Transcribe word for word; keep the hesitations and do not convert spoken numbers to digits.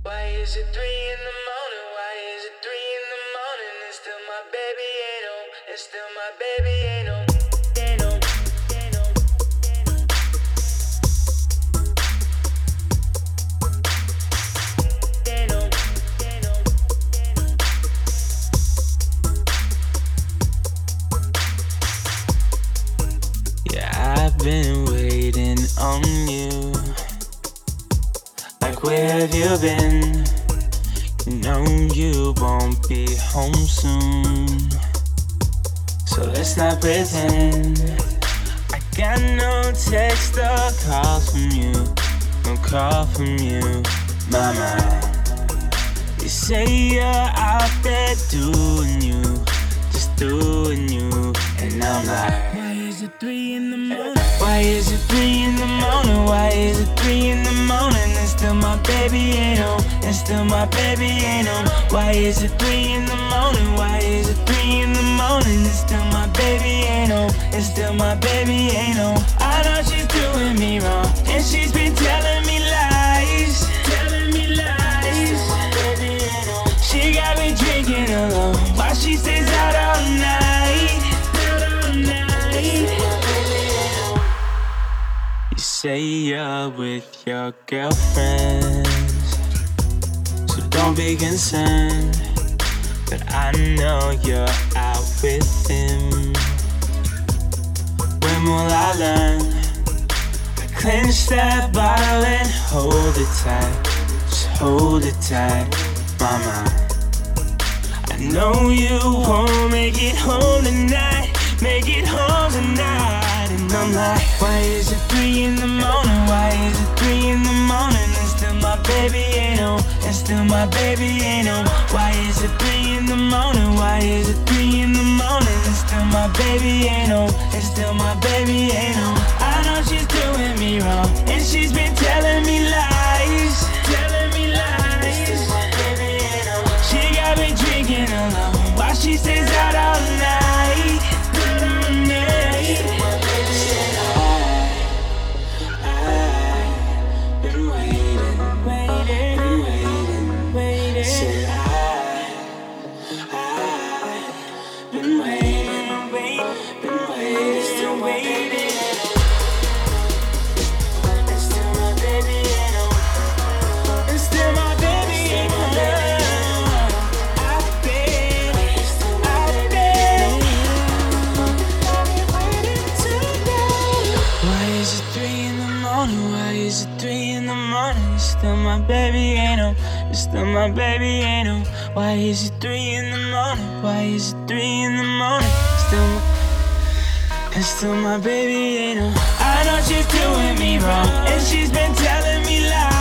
Why is it three in the morning? Why is it three in the morning? And still my baby ain't home. And still my baby ain't home. Ain't home. Ain't home. Ain't home. Ain't home. Yeah, I've been waiting on you. Like, where have you been? You know you won't be home soon, so let's not pretend. I got no text or call from you, no call from you, mama. You say you're out there doing you, just doing you, and I'm like, why is it three in the morning? Why is it three in the morning? Why is it three in the morning? And still my baby ain't home. And still my baby ain't home. Why is it three in the morning? Why is it three in the morning? And still my baby ain't home. And still my baby ain't home. I know she's doing me wrong, and she's been telling me lies, telling me lies. My baby ain't home. She got me drinking alone while she stays out all night, out all night. You say you're with your girlfriends, so don't be concerned. But I know you're out with him. When will I learn? I clench that bottle and hold it tight, just hold it tight, mama. I know you won't make it home tonight, make it home tonight. And I'm like, why is it three in the morning? Why is it three in the morning? And still my baby ain't home. And still my baby ain't home. Why is it three in the morning? Why is it three in the morning? And still my baby ain't home. And still my baby ain't home. I know she's doing me wrong, and she's been telling me lies, telling me lies. Still my baby ain't home. She got me drinking alone while she stays out all night, out all night. Still my baby ain't home. I've been waiting, waiting, been waiting, waiting. Said I, I've been waiting, waiting, been waiting, still waiting. And still my baby ain't home. And still my baby ain't home. I've been, I've been waiting today. Why is it three in the morning? Why is it three in the morning? Still my baby ain't home. Still my baby ain't home. Why is it three in the morning? Why is it three in the morning? Still my, and still my baby ain't home. I know she's doing me wrong, and she's been telling me lies.